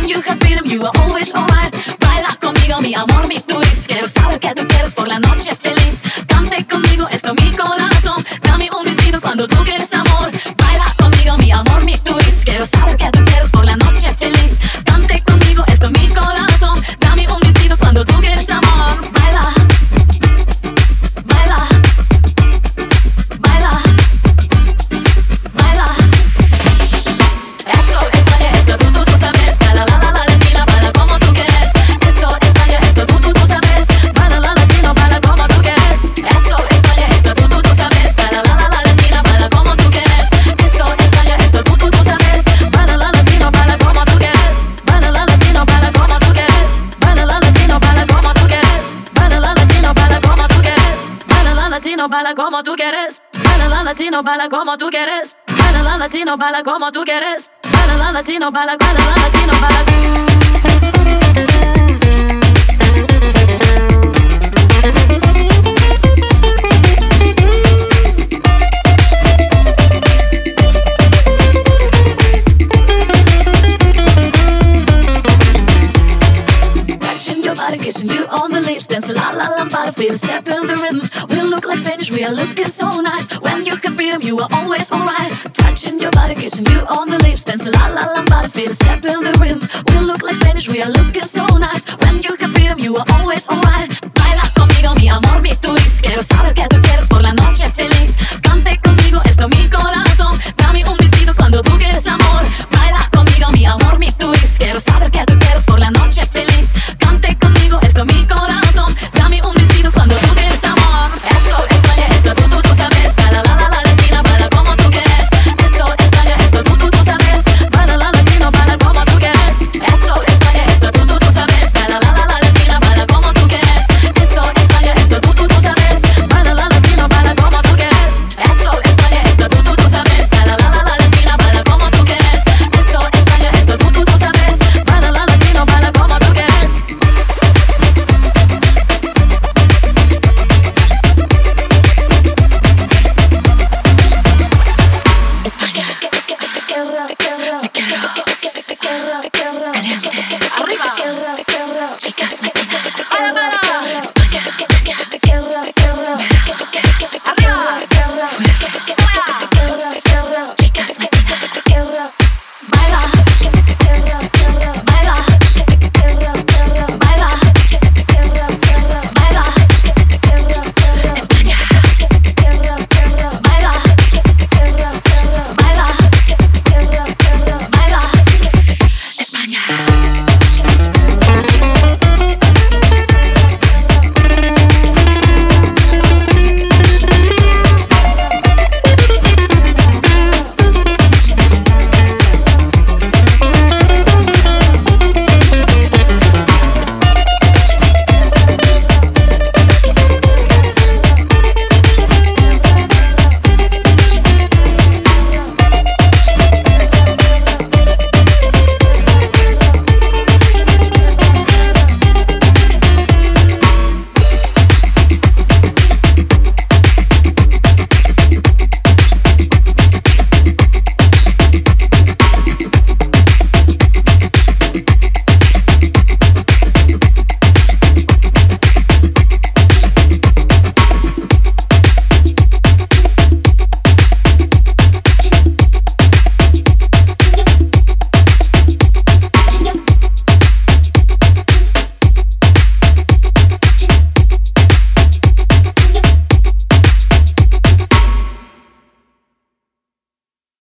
When you have freedom, you are always alright. Baila conmigo, mi amor, mi twist. Quiero saber que tú quieres por la noche feliz. Cante conmigo, esto mi corazón. Dame un besito cuando tú quieres amor. Baila conmigo, mi amor, mi twist. Quiero saber que tú quieres por la noche feliz. Cante conmigo, esto mi corazón. Dame un besito cuando tú quieres amor. Baila, baila, baila, baila. Esto, España, esto tú sabes. Baila la latina, baila como tú quieres. Esto, España, esto tú sabes. Baila la latino, baila como tú quieres. Esto, España, esto tú sabes. Baila la latina, baila como tú quieres. Esto, España, esto tú sabes. Baila la latino, baila como tú quieres. Baila la latino, baila como tú quieres. Baila la latino, baila como tú quieres. Baila la latino, baila como tú quieres. Baila la latino, baila como tú quieres. Baila la latino, baila como tú quieres. Baila la latino, baila como tú quieres. Baila la latino, baila la latino, baila. Kissing you on the lips, dance la la lambada, feel the step in the rhythm. We look like Spanish, we are looking so nice. When you have freedom, you are always alright. Touching your body, kissing you on the lips, dance la la lambada, feel the step in the rhythm. We look like Spanish, we are looking so nice. When you have freedom, you are always alright. Baila conmigo, mi amor, mi twist. Quiero saber que tú